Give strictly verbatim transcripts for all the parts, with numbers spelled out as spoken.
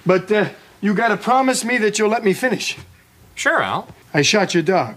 But uh, you gotta promise me that you'll let me finish. Sure, Al. I shot your dog.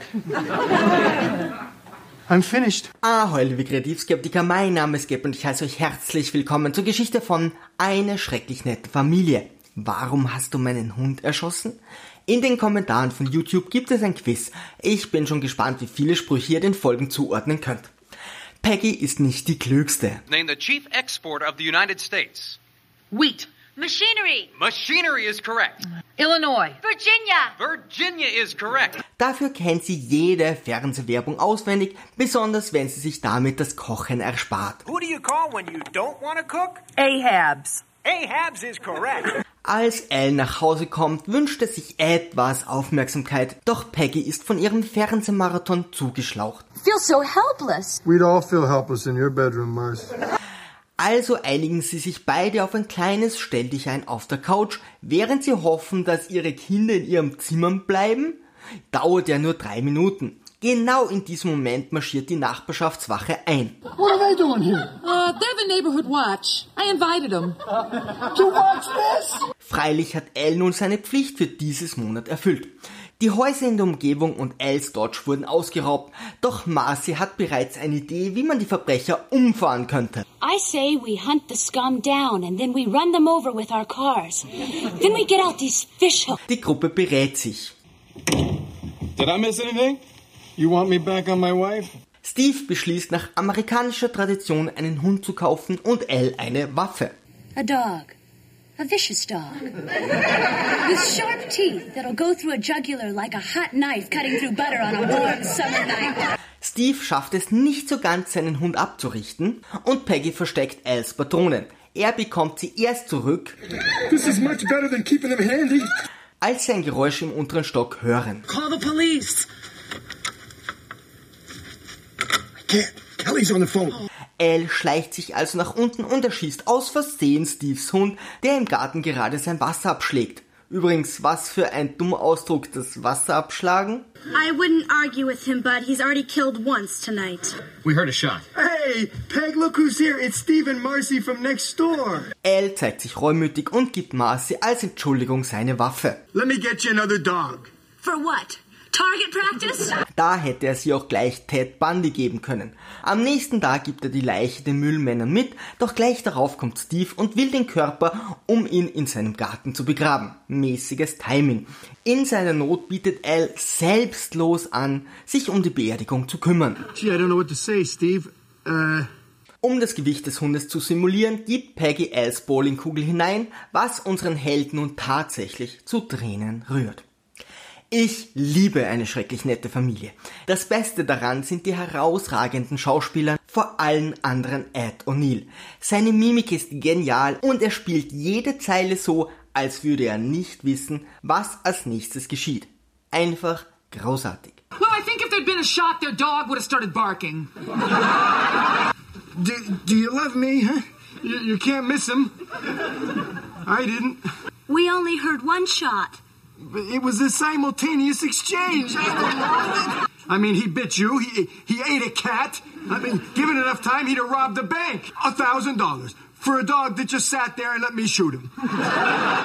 I'm finished. Ahoi, liebe Kreativskeptiker, mein Name ist Geb und ich heiße euch herzlich willkommen zur Geschichte von Eine schrecklich nette Familie. Warum hast du meinen Hund erschossen? In den Kommentaren von YouTube gibt es ein Quiz. Ich bin schon gespannt, wie viele Sprüche ihr den Folgen zuordnen könnt. Peggy ist nicht die Klügste. Name the chief export of the United States. Wheat. Machinery. Machinery is correct. Illinois. Virginia. Virginia is correct. Dafür kennt sie jede Fernsehwerbung auswendig, besonders wenn sie sich damit das Kochen erspart. Who do you call when you don't want to cook? Ahabs. Ahabs is correct. Als Elle nach Hause kommt, wünscht er sich etwas Aufmerksamkeit, doch Peggy ist von ihrem Fernsehmarathon zugeschlaucht. Feel so helpless. We'd all feel helpless in your bedroom, Marcy. Also einigen sie sich beide auf ein kleines Stelldichein auf der Couch, während sie hoffen, dass ihre Kinder in ihrem Zimmer bleiben. Dauert ja nur drei Minuten. Genau in diesem Moment marschiert die Nachbarschaftswache ein. What are they doing here? Uh, they're the neighborhood watch. I invited them. To watch this? Freilich hat Elle nun seine Pflicht für dieses Monat erfüllt. Die Häuser in der Umgebung und Els Dodge wurden ausgeraubt, doch Marcy hat bereits eine Idee, wie man die Verbrecher umfahren könnte. I say we hunt the scum down and then we run them over with our cars. Then we get out these fish hooks. Die Gruppe berät sich. Did I miss anything? You want me back on my wife? Steve beschließt nach amerikanischer Tradition einen Hund zu kaufen und Elle eine Waffe. A dog. A vicious dog. With sharp teeth that'll go through a jugular like a hot knife cutting through butter on a warm summer night. Steve schafft es nicht so ganz, seinen Hund abzurichten und Peggy versteckt Els Patronen. Er bekommt sie erst zurück, This is much better than keeping them handy. als sie ein Geräusch im unteren Stock hören. Call the police. I can't. Kelly's on the phone. Elle schleicht sich also nach unten und erschießt aus Versehen Steves Hund, der im Garten gerade sein Wasser abschlägt. Übrigens, was für ein dummer Ausdruck, das Wasser abschlagen. I wouldn't argue with him, bud. He's already killed once tonight. We heard a shot. Hey, Peg, look who's here. It's Steve and Marcy from next door. Elle zeigt sich reumütig und gibt Marcy als Entschuldigung seine Waffe. Let me get you another dog. For what? Target practice? Da hätte er sie auch gleich Ted Bundy geben können. Am nächsten Tag gibt er die Leiche den Müllmännern mit, doch gleich darauf kommt Steve und will den Körper, um ihn in seinem Garten zu begraben. Mäßiges Timing. In seiner Not bietet Elle selbstlos an, sich um die Beerdigung zu kümmern. Gee, I don't know what to say, Steve. Uh... Um das Gewicht des Hundes zu simulieren, gibt Peggy Els Bowlingkugel hinein, was unseren Held nun tatsächlich zu Tränen rührt. Ich liebe Eine schrecklich nette Familie. Das Beste daran sind die herausragenden Schauspieler, vor allen anderen Ed O'Neill. Seine Mimik ist genial und er spielt jede Zeile so, als würde er nicht wissen, was als nächstes geschieht. Einfach großartig. Well, I think if there'd been a shot, their dog would have started barking. Do, do you love me, huh? You, you can't miss him. I didn't. We only heard one shot. It was a simultaneous exchange. I mean, he bit you. He he ate a cat. I mean, given enough time, he'd have robbed a bank. A thousand dollars for a dog that just sat there and let me shoot him.